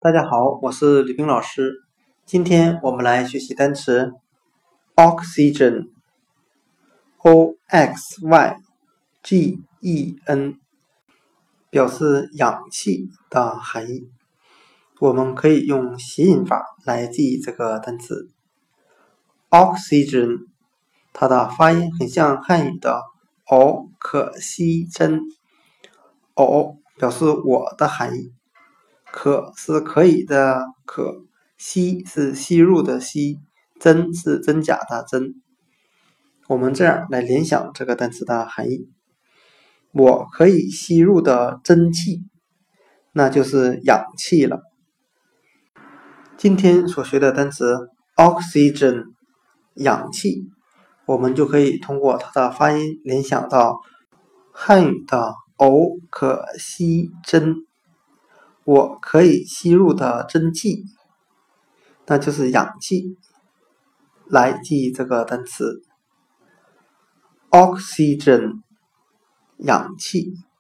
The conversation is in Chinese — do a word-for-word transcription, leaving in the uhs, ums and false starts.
大家好，我是吕冰老师。今天我们来学习单词 oxygen O X Y G E N 表示氧气的含义。我们可以用谐音法来记忆这个单词 oxygen， 它的发音很像汉语的哦可惜真，哦表示我的含义，可是可以的可，吸是吸入的吸，真是真假的真。我们这样来联想这个单词的含义，我可以吸入的真气，那就是氧气了。今天所学的单词 oxygen 氧气，我们就可以通过它的发音联想到汉语的哦可吸真，我可以吸入的真气，那就是氧气，来记忆这个单词 oxygen 氧气。